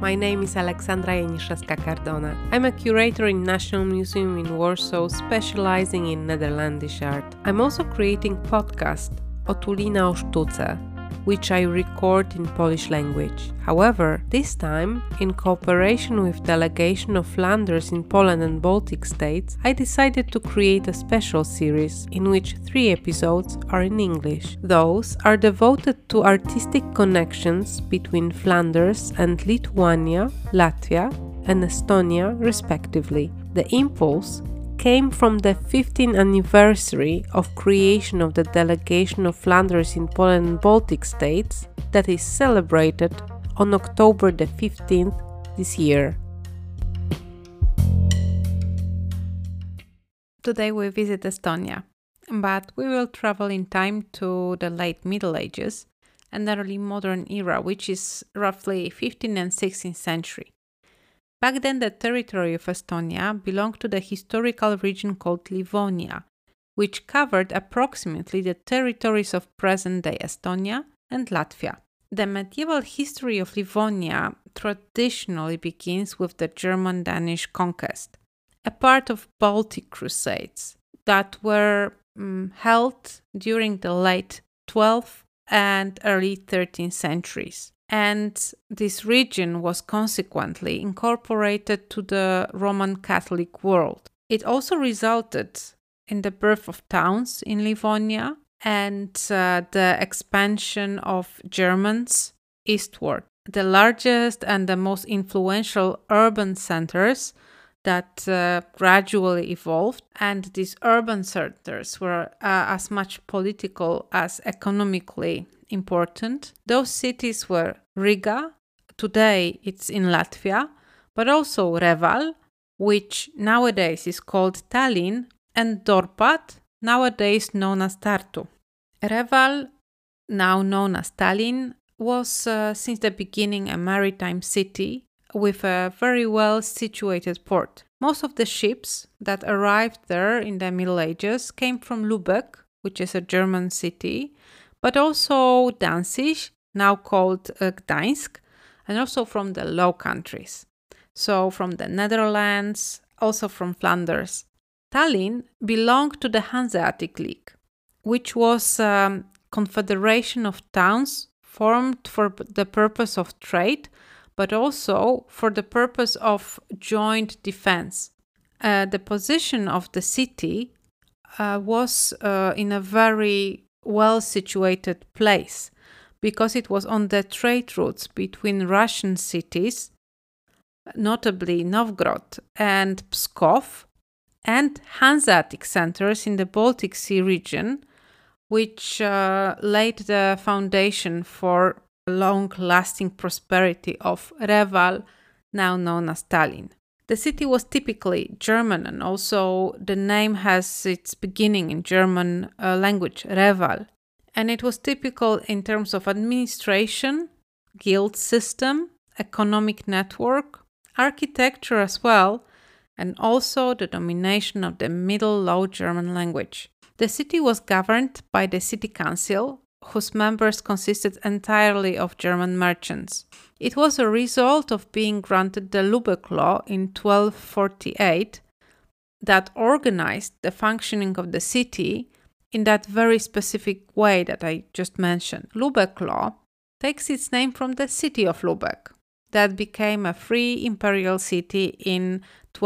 My name is Aleksandra Janiszewska-Cardona. I'm a curator in National Museum in Warsaw, specializing in Netherlandish art. I'm also creating podcast Otulina o Sztuce, which I record in Polish language. However, this time, in cooperation with delegation of Flanders in Poland and Baltic states, I decided to create a special series in which 3 episodes are in English. Those are devoted to artistic connections between Flanders and Lithuania, Latvia, and Estonia, respectively. The impulse came from the 15th anniversary of creation of the delegation of Flanders in Poland and Baltic states that is celebrated on October the 15th this year. Today we visit Estonia, but we will travel in time to the late Middle Ages and early modern era, which is roughly 15th and 16th century. Back then, the territory of Estonia belonged to the historical region called Livonia, which covered approximately the territories of present-day Estonia and Latvia. The medieval history of Livonia traditionally begins with the German-Danish conquest, a part of Baltic Crusades that were held during the late 12th and early 13th centuries. And this region was consequently incorporated to the Roman Catholic world. It also resulted in the birth of towns in Livonia and the expansion of Germans eastward. The largest and the most influential urban centers that gradually evolved, and these urban centers were as much political as economically important. Those cities were Riga, today it's in Latvia, but also Reval, which nowadays is called Tallinn, and Dorpat, nowadays known as Tartu. Reval, now known as Tallinn, was since the beginning a maritime city with a very well situated port. Most of the ships that arrived there in the Middle Ages came from Lübeck, which is a German city, but also Danzig, now called Gdańsk, and also from the Low Countries. So from the Netherlands, also from Flanders. Tallinn belonged to the Hanseatic League, which was a confederation of towns formed for the purpose of trade, but also for the purpose of joint defense. The position of the city was in a very well-situated place because it was on the trade routes between Russian cities, notably Novgorod and Pskov, and Hanseatic centers in the Baltic Sea region, which laid the foundation for long-lasting prosperity of Reval, now known as Tallinn. The city was typically German, and also the name has its beginning in German language, Reval. And it was typical in terms of administration, guild system, economic network, architecture as well, and also the domination of the Middle Low German language. The city was governed by the city council, whose members consisted entirely of German merchants. It was a result of being granted the Lübeck Law in 1248 that organized the functioning of the city in that very specific way that I just mentioned. Lübeck Law takes its name from the city of Lübeck that became a free imperial city in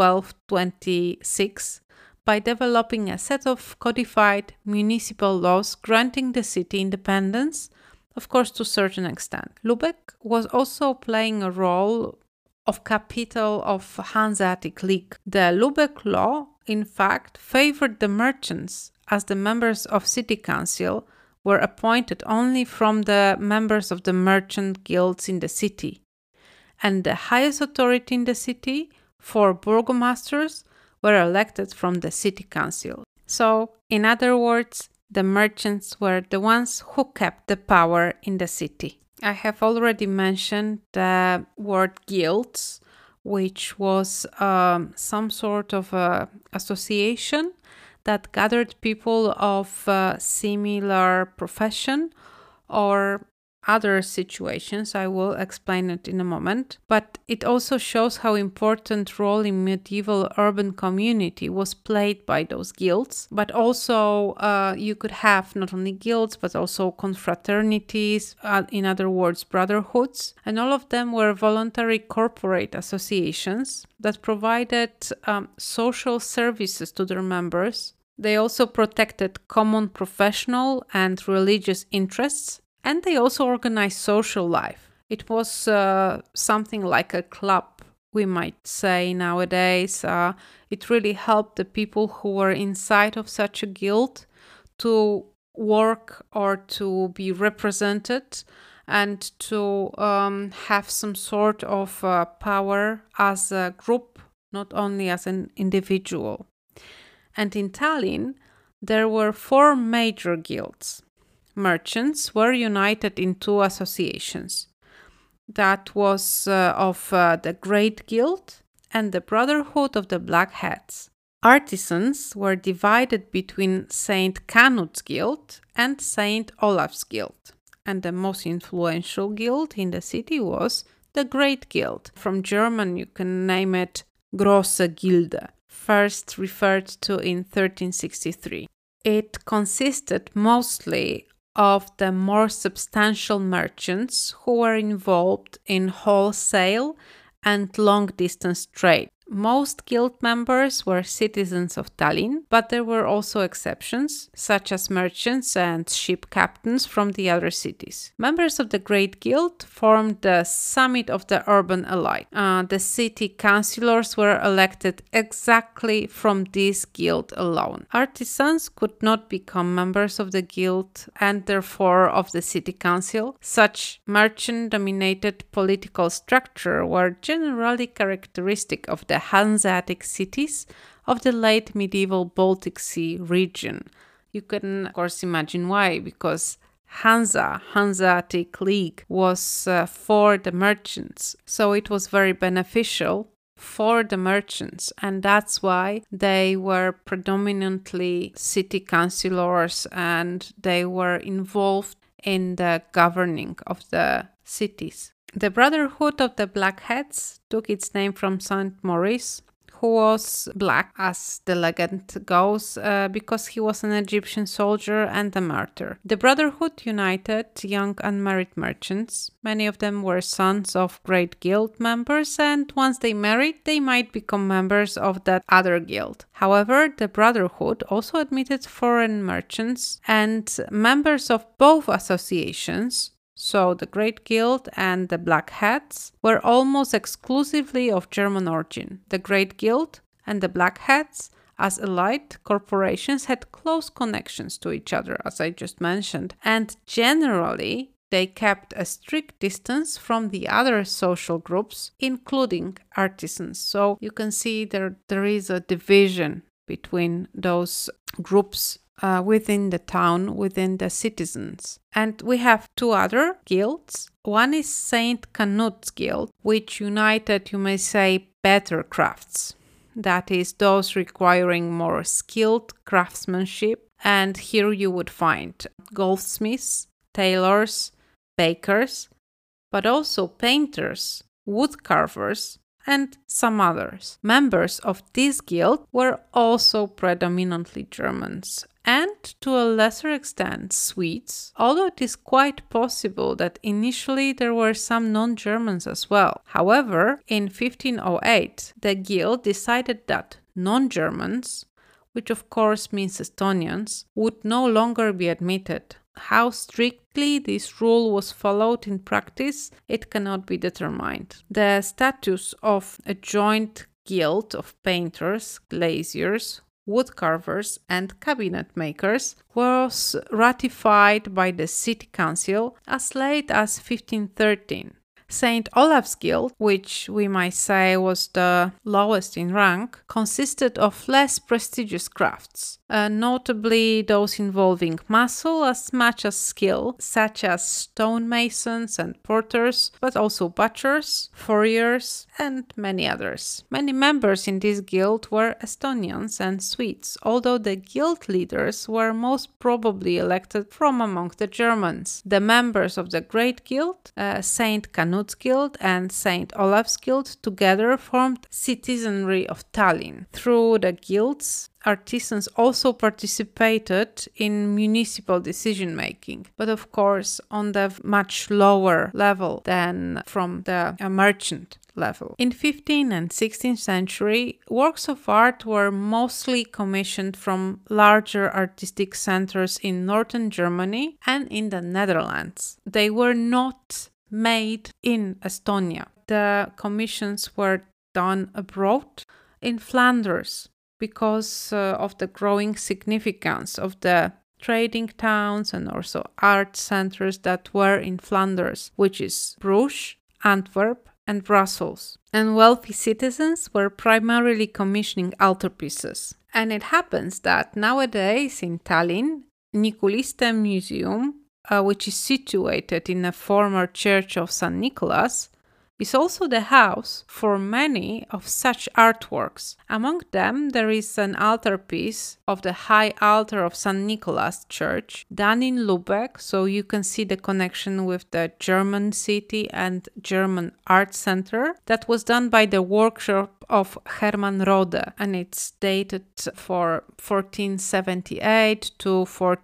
1226 by developing a set of codified municipal laws granting the city independence, of course to a certain extent. Lübeck was also playing a role of capital of Hanseatic League. The Lübeck Law, in fact, favored the merchants, as the members of city council were appointed only from the members of the merchant guilds in the city. And the highest authority in the city, 4 burgomasters, were elected from the city council. So, in other words, the merchants were the ones who kept the power in the city. I have already mentioned the word guilds, which was some sort of association that gathered people of similar profession or other situations. I will explain it in a moment. But it also shows how important role in medieval urban community was played by those guilds. But also you could have not only guilds, but also confraternities, in other words, brotherhoods. And all of them were voluntary corporate associations that provided social services to their members. They also protected common professional and religious interests, and they also organized social life. It was something like a club, we might say nowadays. It really helped the people who were inside of such a guild to work or to be represented and to have some sort of power as a group, not only as an individual. And in Tallinn, there were 4 major guilds. Merchants were united in 2 associations. That was of the Great Guild and the Brotherhood of the Black Hats. Artisans were divided between Saint Canut's Guild and Saint Olaf's Guild. And the most influential guild in the city was the Great Guild. From German, you can name it Große Gilde, first referred to in 1363. It consisted mostly of the more substantial merchants who were involved in wholesale and long-distance trade. Most guild members were citizens of Tallinn, but there were also exceptions, such as merchants and ship captains from the other cities. Members of the Great Guild formed the summit of the urban elite. The city councillors were elected exactly from this guild alone. Artisans could not become members of the guild and therefore of the city council. Such merchant-dominated political structure were generally characteristic of the Hanseatic cities of the late medieval Baltic Sea region. You can, of course, imagine why, because Hanseatic League was for the merchants, so it was very beneficial for the merchants, and that's why they were predominantly city councillors and they were involved in the governing of the cities. The Brotherhood of the Black Hats took its name from Saint Maurice, who was black, as the legend goes, because he was an Egyptian soldier and a martyr. The Brotherhood united young unmarried merchants. Many of them were sons of great guild members, and once they married, they might become members of that other guild. However, the Brotherhood also admitted foreign merchants and members of both associations. So the Great Guild and the Black Hats were almost exclusively of German origin. The Great Guild and the Black Hats, as elite corporations, had close connections to each other, as I just mentioned, and generally they kept a strict distance from the other social groups, including artisans. So you can see there is a division between those groups within the town, within the citizens. And we have 2 other guilds. One is Saint Canut's Guild, which united, you may say, better crafts. That is, those requiring more skilled craftsmanship. And here you would find goldsmiths, tailors, bakers, but also painters, wood carvers, and some others. Members of this guild were also predominantly Germans, and to a lesser extent Swedes, although it is quite possible that initially there were some non-Germans as well. However, in 1508, the guild decided that non-Germans, which of course means Estonians, would no longer be admitted. How strictly this rule was followed in practice, it cannot be determined. The status of a joint guild of painters, glaziers, wood carvers, and cabinet makers was ratified by the city council as late as 1513. St. Olaf's Guild, which we might say was the lowest in rank, consisted of less prestigious crafts, notably those involving muscle as much as skill, such as stonemasons and porters, but also butchers, furriers, and many others. Many members in this guild were Estonians and Swedes, although the guild leaders were most probably elected from among the Germans. The members of the Great Guild, St. Canut's Guild and St. Olaf's Guild, together formed citizenry of Tallinn. Through the guilds, artisans also participated in municipal decision-making, but of course on the much lower level than from the merchant level. In 15th and 16th century, works of art were mostly commissioned from larger artistic centers in northern Germany and in the Netherlands. They were not made in Estonia. The commissions were done abroad in Flanders because of the growing significance of the trading towns and also art centers that were in Flanders, which is Bruges, Antwerp, and Brussels. And wealthy citizens were primarily commissioning altarpieces. And it happens that nowadays in Tallinn, Niculiste Museum, which is situated in a former church of St. Nicholas, is also the house for many of such artworks. Among them, there is an altarpiece of the high altar of St. Nicholas Church, done in Lübeck, so you can see the connection with the German city and German art center. That was done by the workshop of Hermann Rode, and it's dated for 1478 to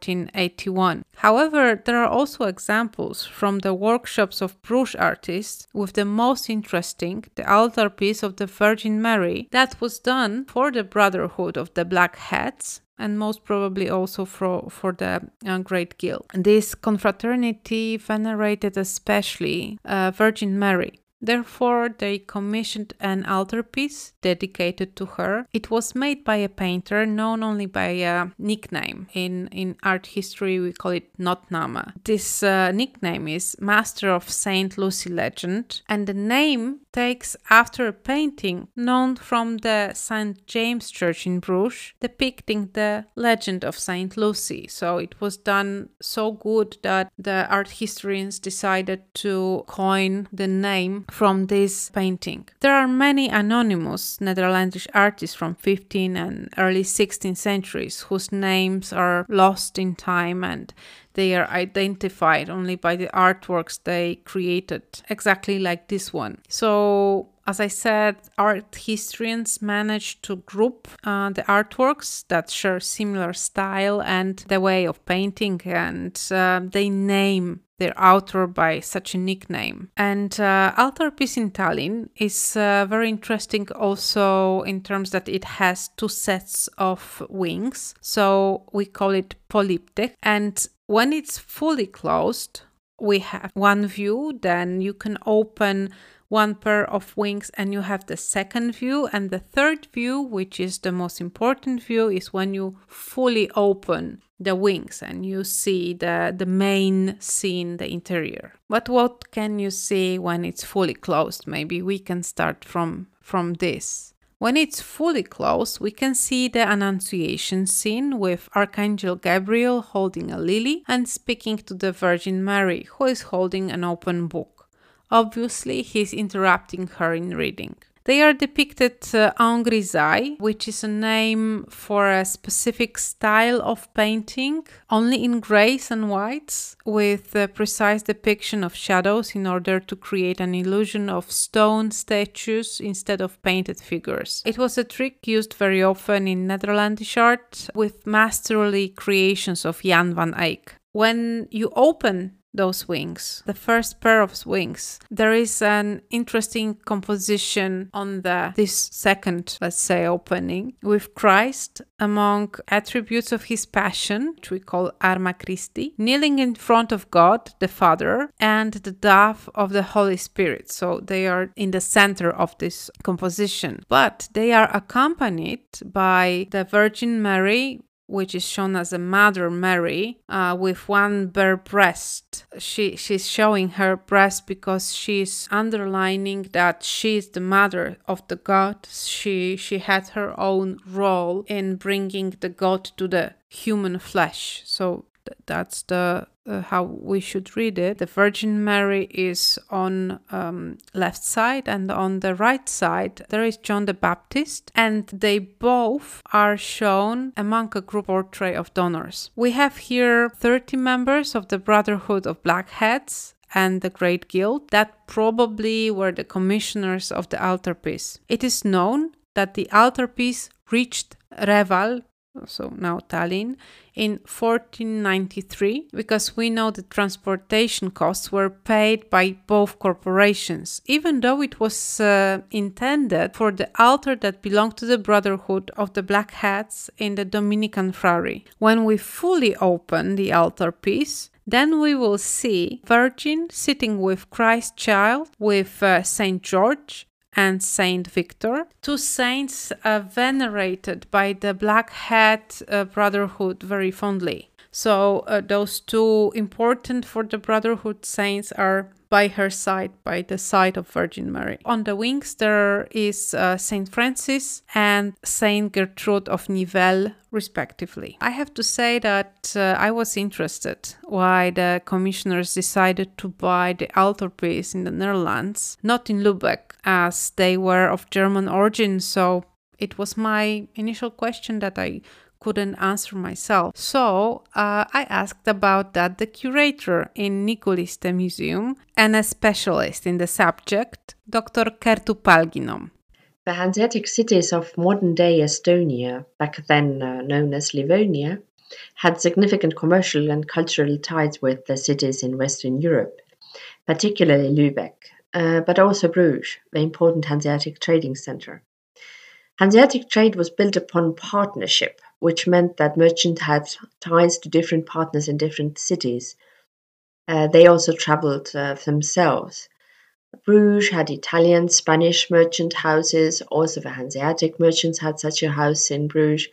1481. However, there are also examples from the workshops of Bruges artists, with the most interesting, the altarpiece of the Virgin Mary, that was done for the Brotherhood of the Black Hats, and most probably also for the Great Guild. This confraternity venerated especially Virgin Mary. Therefore, they commissioned an altarpiece dedicated to her. It was made by a painter known only by a nickname. In art history, we call it Notname. This nickname is Master of Saint Lucy Legend, and the name takes after a painting known from the St. James Church in Bruges, depicting the legend of Saint Lucy. So it was done so good that the art historians decided to coin the name from this painting. There are many anonymous Netherlandish artists from 15th and early 16th centuries whose names are lost in time, and they are identified only by the artworks they created, exactly like this one. So, as I said, art historians managed to group the artworks that share similar style and the way of painting, and they name their author by such a nickname. And altarpiece in Tallinn is very interesting also in terms that it has two sets of wings. So we call it polyptych. And when it's fully closed, we have one view, then you can open one pair of wings and you have the second view, and the third view, which is the most important view, is when you fully open the wings and you see the main scene, the interior. But what can you see when it's fully closed? Maybe we can start from this. When it's fully closed, we can see the Annunciation scene with Archangel Gabriel holding a lily and speaking to the Virgin Mary, who is holding an open book. Obviously, he's interrupting her in reading. They are depicted en grisaille, which is a name for a specific style of painting, only in grays and whites, with a precise depiction of shadows in order to create an illusion of stone statues instead of painted figures. It was a trick used very often in Netherlandish art with masterly creations of Jan van Eyck. When you open those wings, the first pair of wings, there is an interesting composition on this second, let's say, opening, with Christ among attributes of his passion, which we call Arma Christi, kneeling in front of God the Father and the dove of the Holy Spirit. So they are in the center of this composition, but they are accompanied by the Virgin Mary which is shown as a Mother Mary with one bare breast. She's showing her breast because she's underlining that she is the mother of the God. She had her own role in bringing the God to the human flesh. So that's the how we should read it. The Virgin Mary is on left side, and on the right side there is John the Baptist, and they both are shown among a group portrait of donors. We have here 30 members of the Brotherhood of Blackheads and the Great Guild that probably were the commissioners of the altarpiece. It is known that the altarpiece reached Reval, so now Tallinn, in 1493, because we know the transportation costs were paid by both corporations, even though it was intended for the altar that belonged to the Brotherhood of the Blackheads in the Dominican Friary. When we fully open the altarpiece, then we will see Virgin sitting with Christ child, with Saint George and Saint Victor, two saints venerated by the Blackhead Brotherhood very fondly. So those two important for the Brotherhood saints are by her side, by the side of Virgin Mary. On the wings there is Saint Francis and Saint Gertrude of Nivelles, respectively. I have to say that I was interested why the commissioners decided to buy the altarpiece in the Netherlands, not in Lübeck, as they were of German origin. So it was my initial question that I couldn't answer myself. So I asked about that the curator in Nikolische Museum and a specialist in the subject, Dr. Kertu Palginom. The Hanseatic cities of modern-day Estonia, back then known as Livonia, had significant commercial and cultural ties with the cities in Western Europe, particularly Lübeck, but also Bruges, the important Hanseatic trading center. Hanseatic trade was built upon partnership, which meant that merchants had ties to different partners in different cities. They also traveled themselves. Bruges had Italian, Spanish merchant houses. Also, the Hanseatic merchants had such a house in Bruges.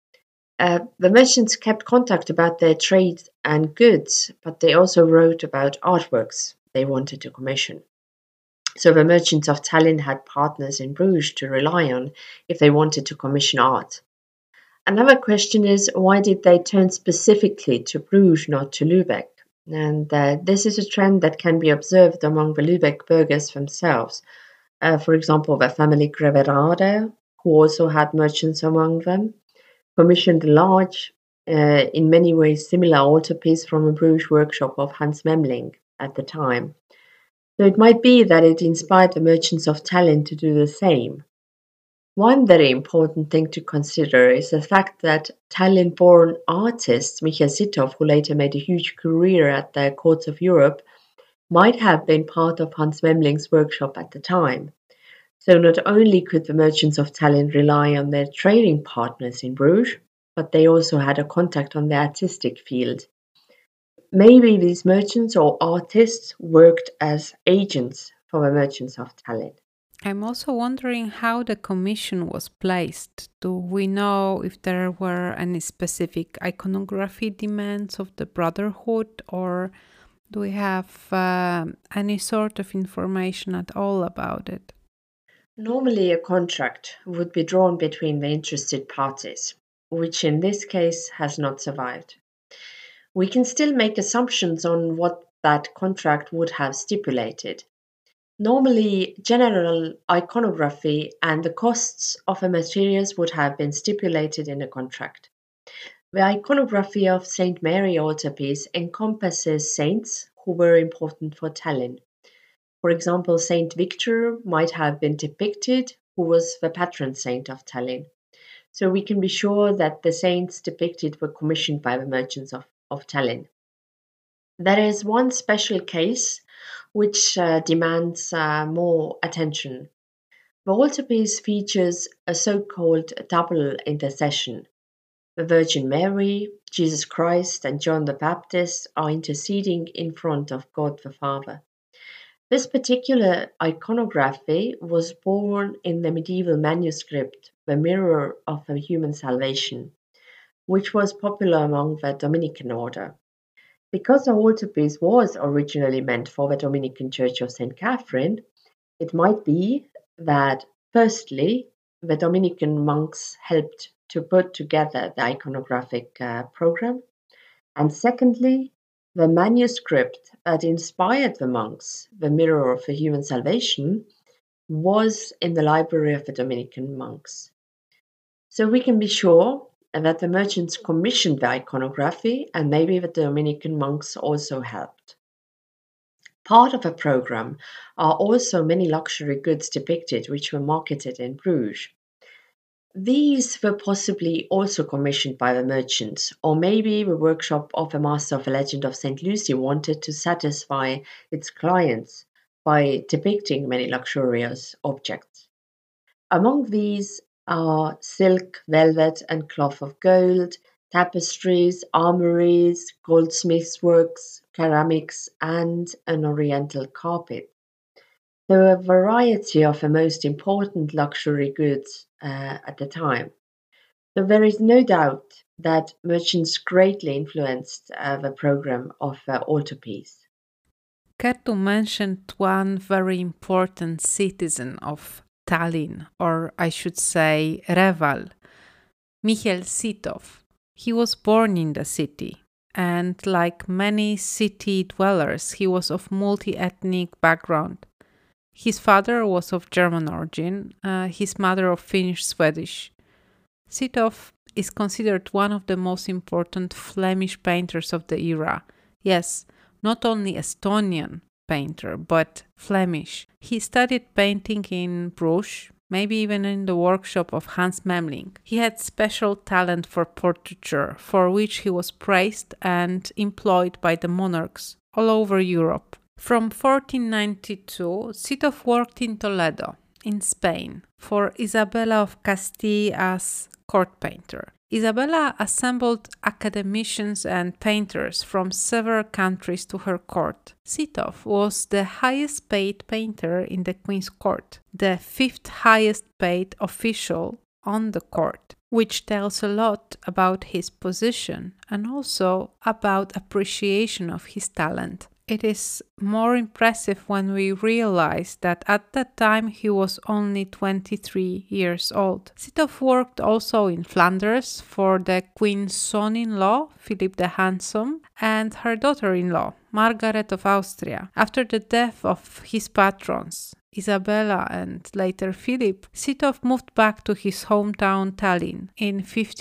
The merchants kept contact about their trade and goods, but they also wrote about artworks they wanted to commission. So the merchants of Tallinn had partners in Bruges to rely on if they wanted to commission art. Another question is, why did they turn specifically to Bruges, not to Lübeck? And this is a trend that can be observed among the Lübeck burghers themselves. For example, the family Greverade, who also had merchants among them, commissioned a large, in many ways similar altarpiece from a Bruges workshop of Hans Memling at the time. So it might be that it inspired the merchants of Tallinn to do the same. One very important thing to consider is the fact that Tallinn-born artist Michael Sitov, who later made a huge career at the courts of Europe, might have been part of Hans Memling's workshop at the time. So not only could the merchants of Tallinn rely on their trading partners in Bruges, but they also had a contact on the artistic field. Maybe these merchants or artists worked as agents for the merchants of Tallinn. I'm also wondering how the commission was placed. Do we know if there were any specific iconography demands of the Brotherhood, or do we have any sort of information at all about it? Normally, a contract would be drawn between the interested parties, which in this case has not survived. We can still make assumptions on what that contract would have stipulated. Normally, general iconography and the costs of the materials would have been stipulated in a contract. The iconography of St. Mary altarpiece encompasses saints who were important for Tallinn. For example, Saint Victor might have been depicted, who was the patron saint of Tallinn. So we can be sure that the saints depicted were commissioned by the merchants of Tallinn. There is one special case which demands more attention. The altarpiece features a so-called double intercession. The Virgin Mary, Jesus Christ, and John the Baptist are interceding in front of God the Father. This particular iconography was born in the medieval manuscript, The Mirror of the Human Salvation. which was popular among the Dominican order. Because the altarpiece was originally meant for the Dominican Church of St. Catherine, it might be that, firstly, the Dominican monks helped to put together the iconographic program, and secondly, the manuscript that inspired the monks, the Mirror of the Human Salvation, was in the library of the Dominican monks. So we can be sure that the merchants commissioned the iconography, and maybe the Dominican monks also helped. Part of the program are also many luxury goods depicted which were marketed in Bruges. These were possibly also commissioned by the merchants, or maybe the workshop of the master of the legend of St. Lucy wanted to satisfy its clients by depicting many luxurious objects. Among these are silk, velvet, and cloth of gold, tapestries, armories, goldsmiths' works, ceramics, and an oriental carpet. There were a variety of the most important luxury goods at the time. So there is no doubt that merchants greatly influenced the program of the altarpiece. Kertu mentioned one very important citizen of Tallinn, or I should say Reval, Michel Sitov. He was born in the city, and like many city dwellers, he was of multi-ethnic background. His father was of German origin, his mother of Finnish-Swedish. Sitov is considered one of the most important Flemish painters of the era. Yes, not only Estonian painter, but Flemish. He studied painting in Bruges, maybe even in the workshop of Hans Memling. He had special talent for portraiture, for which he was praised and employed by the monarchs all over Europe. From 1492, Sitov worked in Toledo, in Spain, for Isabella of Castile as court painter. Isabella assembled academicians and painters from several countries to her court. Sitov was the highest paid painter in the Queen's court, the fifth highest paid official on the court, which tells a lot about his position and also about appreciation of his talent. It is more impressive when we realize that at that time he was only 23 years old. Sitov worked also in Flanders for the Queen's son-in-law, Philip the Handsome, and her daughter-in-law, Margaret of Austria. After the death of his patrons, Isabella and later Philip, Sitov moved back to his hometown Tallinn. In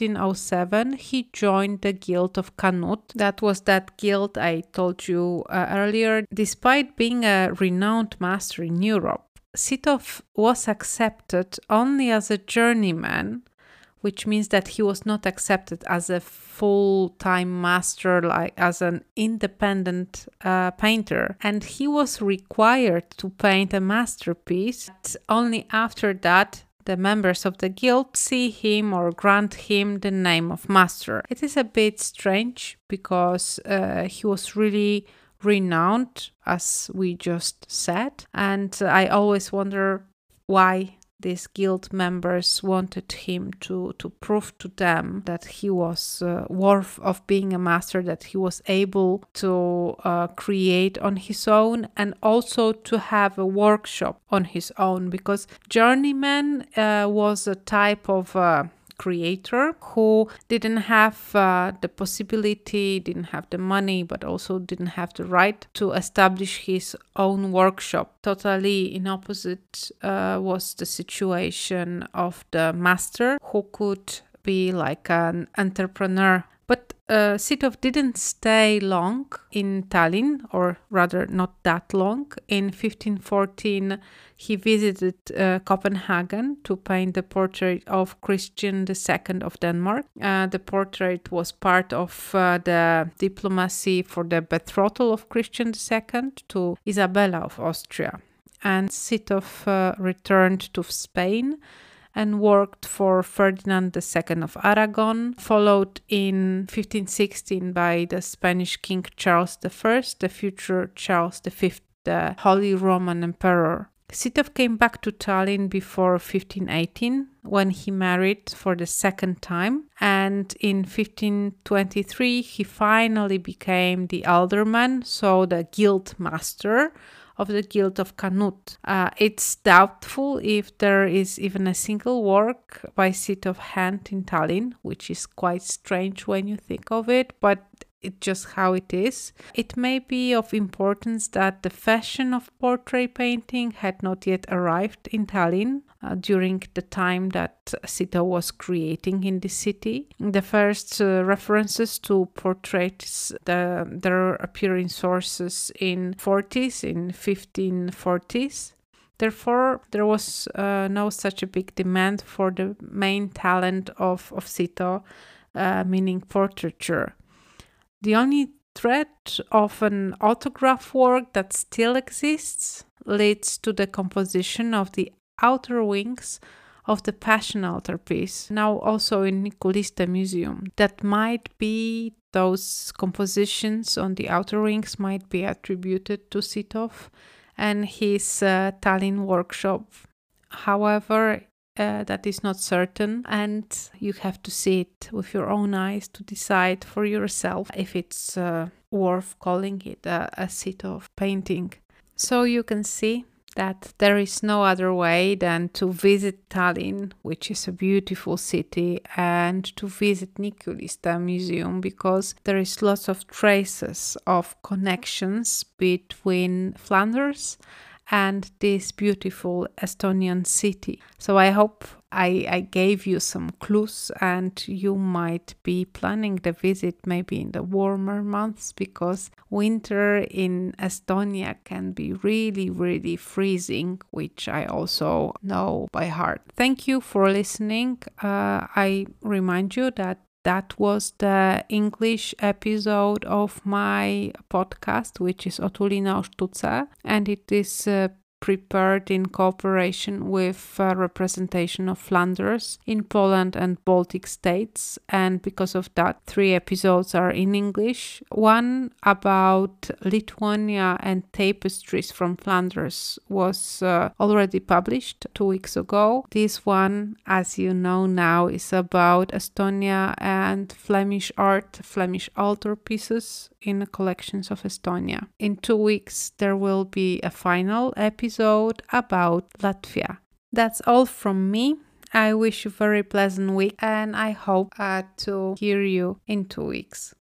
1507, he joined the Guild of Canut. That was that guild I told you earlier. Despite being a renowned master in Europe, Sitov was accepted only as a journeyman, which means that he was not accepted as a full-time master, like as an independent painter. And he was required to paint a masterpiece. Only after that, the members of the guild see him or grant him the name of master. It is a bit strange because he was really renowned, as we just said. And I always wonder why these guild members wanted him to prove to them that he was worth of being a master, that he was able to create on his own and also to have a workshop on his own, because journeyman was a type of creator who didn't have the possibility, didn't have the money, but also didn't have the right to establish his own workshop. Totally in opposite was the situation of the master, who could be like an entrepreneur. But Sitov didn't stay long in Tallinn, or rather not that long. In 1514, he visited Copenhagen to paint the portrait of Christian II of Denmark. The portrait was part of the diplomacy for the betrothal of Christian II to Isabella of Austria. And Sitov returned to Spain and worked for Ferdinand II of Aragon, followed in 1516 by the Spanish King Charles I, the future Charles V, the Holy Roman Emperor. Sitov came back to Tallinn before 1518 when he married for the second time. And in 1523, he finally became the alderman, so the guild master of the Guild of Canute. It's doubtful if there is even a single work by Sito of hand in Tallinn, which is quite strange when you think of it, but it's just how it is. It may be of importance that the fashion of portrait painting had not yet arrived in Tallinn during the time that Sito was creating in the city. The first references to portraits there appear in sources in 1540s. Therefore, there was no such a big demand for the main talent of Sito, meaning portraiture. The only thread of an autograph work that still exists leads to the composition of the outer wings of the Passion altarpiece, now also in Nikolisste Museum. That might be those compositions on the outer wings might be attributed to Sitov and his Tallinn workshop. However, that is not certain, and you have to see it with your own eyes to decide for yourself if it's worth calling it a Sitov painting. So you can see that there is no other way than to visit Tallinn, which is a beautiful city, and to visit Nikolisste Museum, because there is lots of traces of connections between Flanders and this beautiful Estonian city. So I hope I gave you some clues, and you might be planning the visit maybe in the warmer months, because winter in Estonia can be really, really freezing, which I also know by heart. Thank you for listening. I remind you that was the English episode of my podcast, which is Otulina Ostuce, and it is prepared in cooperation with representation of Flanders in Poland and Baltic states. And because of that, 3 episodes are in English. One about Lithuania and tapestries from Flanders was already published 2 weeks ago. This one, as you know now, is about Estonia and Flemish art, Flemish altarpieces in collections of Estonia. In 2 weeks, there will be a final episode about Latvia. That's all from me. I wish you a very pleasant week, and I hope to hear you in 2 weeks.